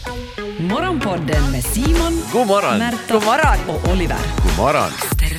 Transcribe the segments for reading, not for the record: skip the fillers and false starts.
Morgonpodden med Simon, God morgon. Märta och Oliver. God morgon.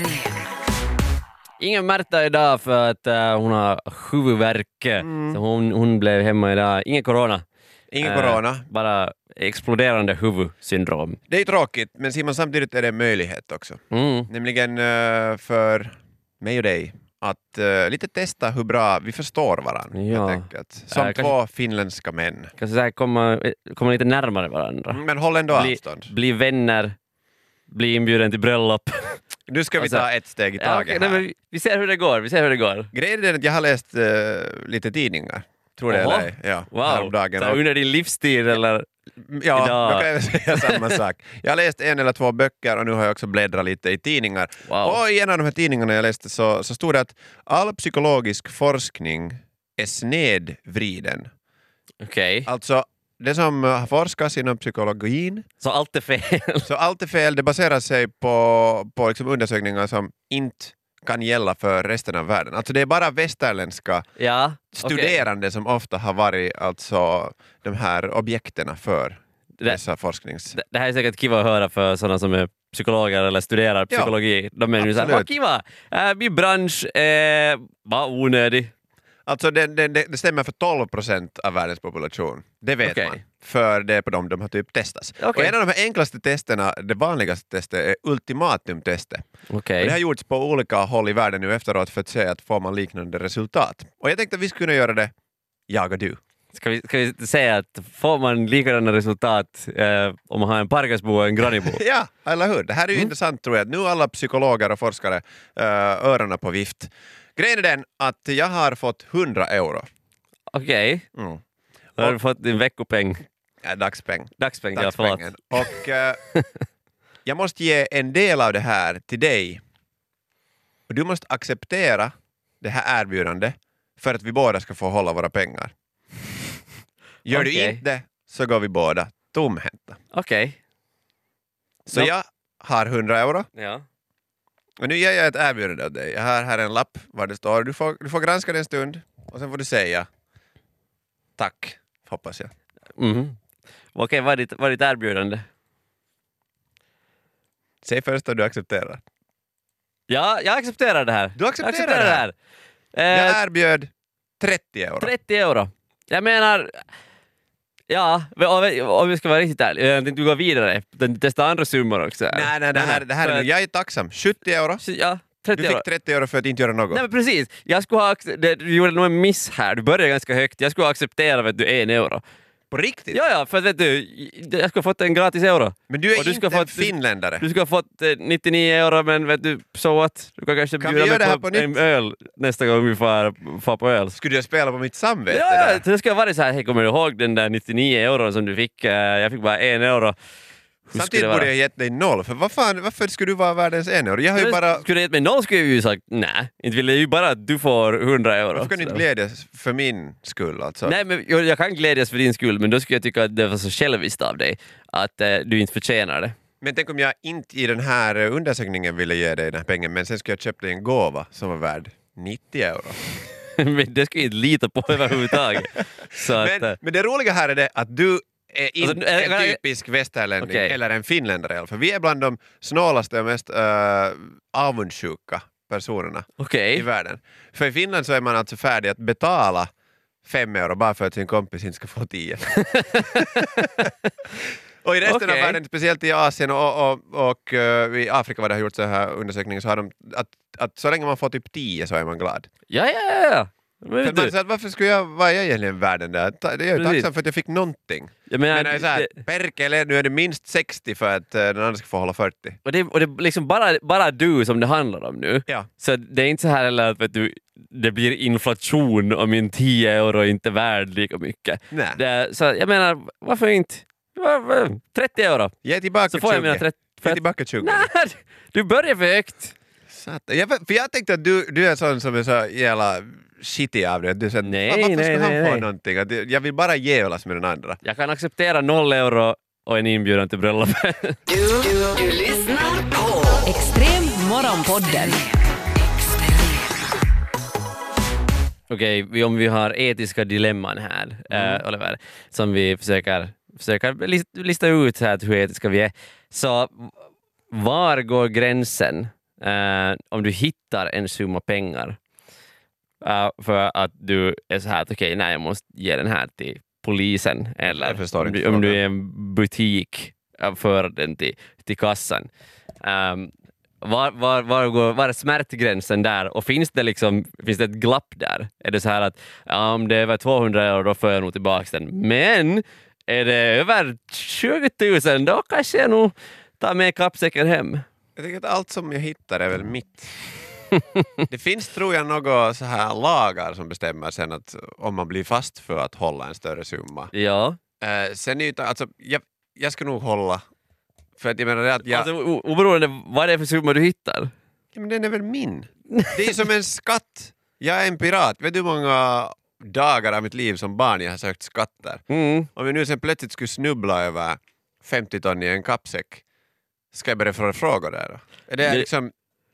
Ingen Märta idag för att hon har huvudvärk. Så hon blev hemma idag. Ingen corona. Ingen corona. Bara exploderande huvudsyndrom. Det är tråkigt, men Simon, samtidigt är det en möjlighet också. Nämligen för mig och dig att lite testa hur bra vi förstår varandra. Ja. Helt enkelt. Som två finländska män. Kanske så här komma lite närmare varandra. Men håll ändå avstånd. Bli vänner. Bli inbjuden till bröllop. Nu ska vi ta ett steg i taget här. Men vi ser hur det går. Grejen är att jag har läst lite tidningar. Tror det eller ej. Ja, wow. häromdagen. Så under din livstid eller? Ja, idag. då kan jag säga samma sak. Jag har läst 1 eller 2 böcker och nu har jag också bläddrat lite i tidningar. Wow. Och i en av de här tidningarna jag läste så stod det att all psykologisk forskning är snedvriden. Okej. Alltså, det som har forskats inom psykologin, Så allt är fel. så allt är fel. Det baserar sig på liksom undersökningar som inte kan gälla för resten av världen. Alltså det är bara västerländska Ja. studerande som ofta har varit alltså de här objekterna för dessa forsknings... Det här är säkert kiva att höra för sådana som är psykologer eller studerar psykologi. De är ju såhär, vad kiva! Min bransch var onödig. Alltså det stämmer för 12% av världens population. Det vet man. För det är på dem de har typ testats. Okay. Och en av de här enklaste testerna, det vanligaste testet, är ultimatumtestet. Okay. Och det har gjorts på olika håll i världen nu efteråt för att se att får man liknande resultat. Och jag tänkte att vi skulle kunna göra det, jag och du. Ska vi säga att får man likadana resultat om man har en Parkasbo och en Granibo? Ja, eller hur? Det här är ju intressant tror jag. Nu alla psykologer och forskare öronen på vift. Grejen är den att jag har fått 100 euro. Okej. Då har du fått din veckopeng. Ja, dagspeng. Dagspeng, ja, förlåt. Och jag måste ge en del av det här till dig. Och du måste acceptera det här erbjudandet för att vi båda ska få hålla våra pengar. Gör du inte så går vi båda tomhänta. Okej. Så jag har 100 euro. Ja. Och nu ger jag ett erbjudande av dig. Jag har här en lapp var det står. Du får granska det en stund och sen får du säga tack, hoppas jag. Okej, vad är ditt erbjudande? Säg först att du accepterar. Ja, jag accepterar det här. Du accepterar det här? Jag erbjöd 30 euro. 30 euro. Jag menar... Ja, om vi ska vara riktigt ärlig. Jag tänkte gå vidare. Testa andra summor också. Nej, det här är nu. Jag är tacksam. 70 euro. Ja, 30 du fick 30 euro för att inte göra något. Nej men precis. Jag skulle ha du gjorde nog en miss här. Du började ganska högt. Jag skulle ha accepterat vet du 1 euro. På riktigt? Ja, för att vet du, jag skulle ha fått en gratis euro. Men du är du inte en finländare. Du skulle ha fått 99 euro, men vet du, så what? Du kan kanske bjuda mig på en öl nästa gång vi får på öl. Skulle jag spela på mitt samvete där? Det ska vara så här, hej, kommer du ihåg den där 99 euro som du fick? Jag fick bara 1 euro. Samtidigt borde jag gett dig 0, för varför skulle du vara världens 1 euro? Jag har ju bara... Skulle du gett mig 0 skulle jag ju sagt, nej, inte vill jag ju bara att du får 100 euro. Varför kan du inte glädjas för min skull alltså? Nej, men jag kan glädjas för din skull, men då skulle jag tycka att det var så själviskt av dig att du inte förtjänar det. Men tänk om jag inte i den här undersökningen ville ge dig den här pengen, men sen skulle jag köpa dig en gåva som var värd 90 euro. Men det skulle jag inte lita på överhuvudtaget. Så men det roliga här är det att du är inte alltså, en typisk västerlänning eller en finländare. För vi är bland de snålaste och mest avundsjuka personerna i världen. För i Finland så är man alltså färdig att betala 5 euro bara för att sin kompis inte ska få 10. Och i resten av världen, speciellt i Asien och i Afrika vad det har gjort så här undersökningar så har de att så länge man får typ 10 så är man glad. Ja. För man säger att varför skulle jag vara egentligen världen där? Jag är tacksam för att jag fick någonting. Men så här, Perkele, nu är det minst 60 för att den andra ska få hålla 40. Och det är liksom bara du som det handlar om nu. Ja. Så det är inte så här heller att vet du, det blir inflation om min 10 euro inte är värd lika mycket. Nej. Så jag menar, varför inte? 30 euro. Ge tillbaka 20. Så får jag mina 30. Ge tillbaka 20. Nej, du börjar för högt. För jag tänkte att du är sån som är så jävla shitty av det. Du säger, varför ska han få någonting? Jag vill bara jävlas med den andra. Jag kan acceptera 0 euro och en inbjudan till bröllopet. Du lyssnar på Extrem Morgonpodden. Okej, om vi har etiska dilemman här, Oliver, som vi försöker försöka lista ut så här hur etiska vi är. Så var går gränsen om du hittar en summa pengar för att du är så här att okej, nej, jag måste ge den här till polisen eller om du är en butik för den till kassan. Var är smärtgränsen där? Och finns det ett glapp där? Är det så här att om det är över 200 euro då får jag nog tillbaka den. Men är det över 20 000 då kanske jag nog tar med kappsäcken hem. Jag tycker att allt som jag hittar är väl mitt. Det finns, tror jag, några så här lagar som bestämmer sen att om man blir fast för att hålla en större summa. Ja. Sen är ju, alltså, jag ska nog hålla. För att jag menar att Alltså oberoende vad det är för summa du hittar. Ja, men den är väl min. Det är som en skatt. Jag är en pirat. Vet du hur många dagar av mitt liv som barn jag har sökt skatter? Om jag nu sen plötsligt skulle snubbla över 50 ton i en kappsäck, ska jag börja fråga där då? Är det liksom...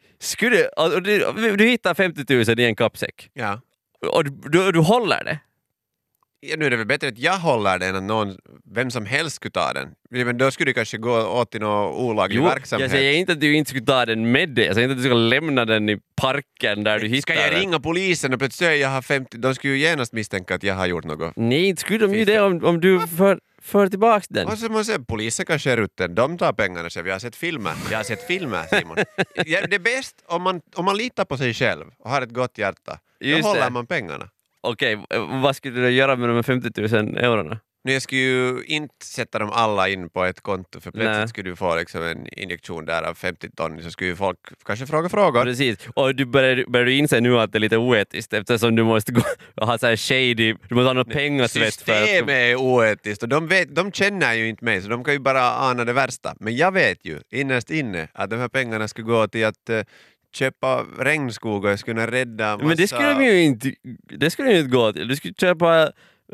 Du hittar 50 000 i en kappsäck. Ja. Och du håller det. Ja, nu är det väl bättre att jag håller den än vem som helst skulle ta den. Men då skulle det kanske gå åt till någon olaglig verksamhet. Jag säger inte att du inte skulle ta den med dig. Jag säger inte att du ska lämna den i parken där du hittar den. Ska jag ringa polisen och plötsligt säga jag har 50? De skulle ju genast misstänka att jag har gjort något. Nej, inte skulle de ju det om du för tillbaka den. Och så måste jag säga, polisen kanske är ute. De tar pengarna själv. Jag har sett filmer, Simon. Det är bäst om man litar på sig själv och har ett gott hjärta. Då håller man pengarna. Okej, vad skulle du göra med de 50 000 eurona? Nu, jag skulle ju inte sätta dem alla in på ett konto, för plötsligt skulle du få liksom en injektion där av 50 ton, så skulle ju folk kanske fråga frågor. Precis, och du börjar inse nu att det är lite oetiskt eftersom du måste gå och ha så här shady, du måste ha något pengasvett. Systemet är oetiskt och de känner ju inte mig, så de kan ju bara ana det värsta. Men jag vet ju innerst inne att de här pengarna skulle gå till att köpa regnskog och jag skulle rädda massa... Men det skulle ju inte gå till. Du skulle köpa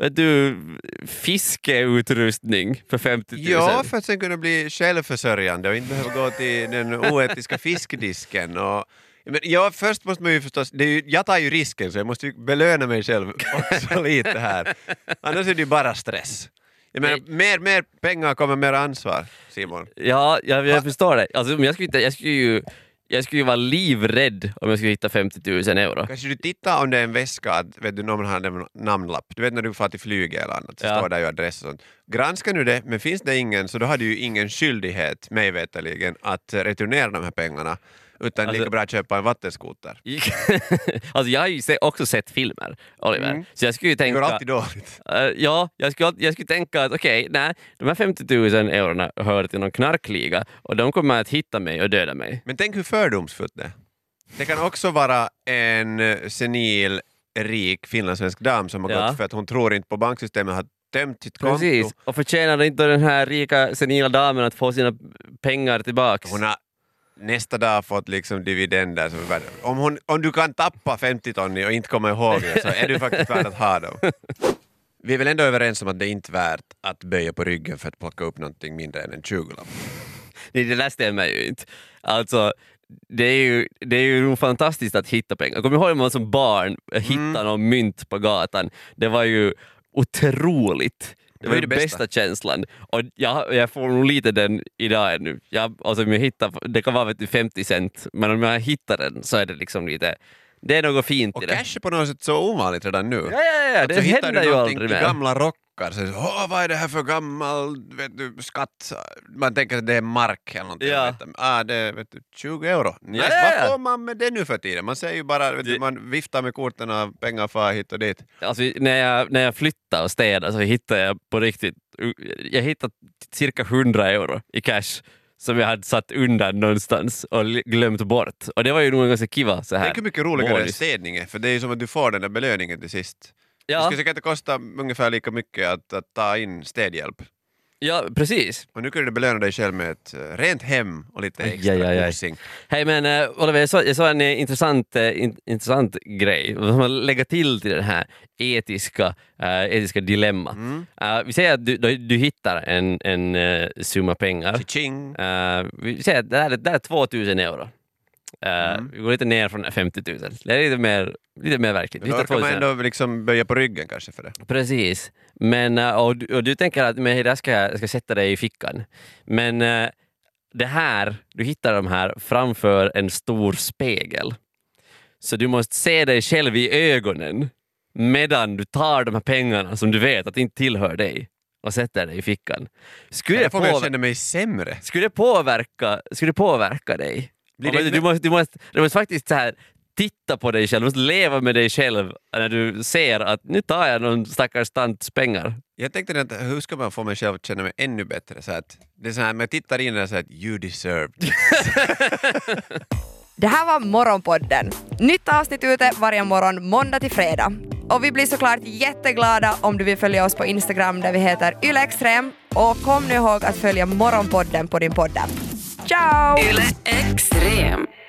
fiskeutrustning för 50 000. Ja, för att sen kunna bli självförsörjande och inte behöva gå till den oetiska fiskdisken. Men först måste man ju förstås... jag tar ju risken, så jag måste ju belöna mig själv också lite här. Annars är det ju bara stress. Jag menar, mer pengar kommer mer ansvar, Simon. Ja, jag förstår det. Alltså, jag skulle ju vara livrädd om jag skulle hitta 50 000 euro. Kanske du tittar om det är en väska, att vet du, någon har en namnlapp. Du vet när du får till flyget eller annat, så står där ju adress och sånt. Granskar nu det, men finns det ingen, så då har du ju ingen skyldighet, mig veterligen, att returnera de här pengarna. Utan lika bra att köpa en vattenskoter. Alltså jag har ju också sett filmer, Oliver. Så jag skulle ju tänka... Det går alltid dåligt. Ja, jag skulle tänka att okej, de här 50 000 eurona hör till någon knarkliga och de kommer att hitta mig och döda mig. Men tänk hur fördomsfullt det. Det kan också vara en senil, rik finlandssvensk dam som har gått för att hon tror inte på banksystemet, har tömt sitt konto. Precis, och förtjänar inte den här rika senila damen att få sina pengar tillbaka. Hon har nästa dag fått liksom dividender. Om du kan tappa 50 ton och inte komma ihåg det, så är du faktiskt värd att ha dem. Vi är väl ändå överens om att det inte är värt att böja på ryggen för att plocka upp någonting mindre än en 20-lapp. Det där stämmer ju inte. Alltså, det är ju fantastiskt att hitta pengar. Jag kommer ihåg när man som barn hittade någon mynt på gatan. Det var ju otroligt. Det var ju den bästa känslan. Och jag får nog lite den idag ännu. Det kan vara 50 cent, men om jag hittar den så är det liksom lite... Det är något fint och i det. Och cash är på något sätt så ovanligt redan nu. Ja, det händer ju aldrig mer. Gamla rockar, så vad är det här för gammal skatt? Man tänker att det är mark eller någonting. Det är 20 euro. Vad får man med det nu för tiden? Man säger ju bara, man viftar med korten och pengar för hit och dit. Alltså, när jag flyttade och städade så hittade jag på riktigt, jag hittade cirka 100 euro i cash som jag hade satt undan någonstans och glömt bort. Och det var ju nog ganska kiva så här. Det är mycket roligare städning, för det är som att du får den där belöningen till sist. Det skulle säkert kosta ungefär lika mycket att ta in städhjälp. Ja, precis. Och nu kan du belöna dig själv med ett rent hem och lite extra kosing. Hej, men Oliver, jag såg en intressant grej. Man lägger till det här etiska dilemma. Vi säger att du hittar en summa pengar. Ching. Vi säger att det här är 2000 euro. Vi går lite ner från 50 000. Det är lite mer verkligt. Då kan man ändå liksom böja på ryggen kanske för det. Precis. Men, och du tänker att men, jag ska sätta dig i fickan. Men det här, du hittar de här framför en stor spegel. Så du måste se dig själv i ögonen medan du tar de här pengarna som du vet att inte tillhör dig och sätter dig i fickan. Jag får känna mig sämre. Skulle det påverka dig? Du måste faktiskt så här titta på dig själv, du måste leva med dig själv när du ser att nu tar jag någon stackars tants pengar. Jag tänkte att hur ska man få mig själv att känna mig ännu bättre? Så att det är så här, man tittar in och säger att you deserve. Det här var Morgonpodden. Nytt avsnitt ute varje morgon måndag till fredag. Och vi blir såklart jätteglada om du vill följa oss på Instagram där vi heter ylextrem. Och kom nu ihåg att följa Morgonpodden på din podd. Ciao! Yle Extrem.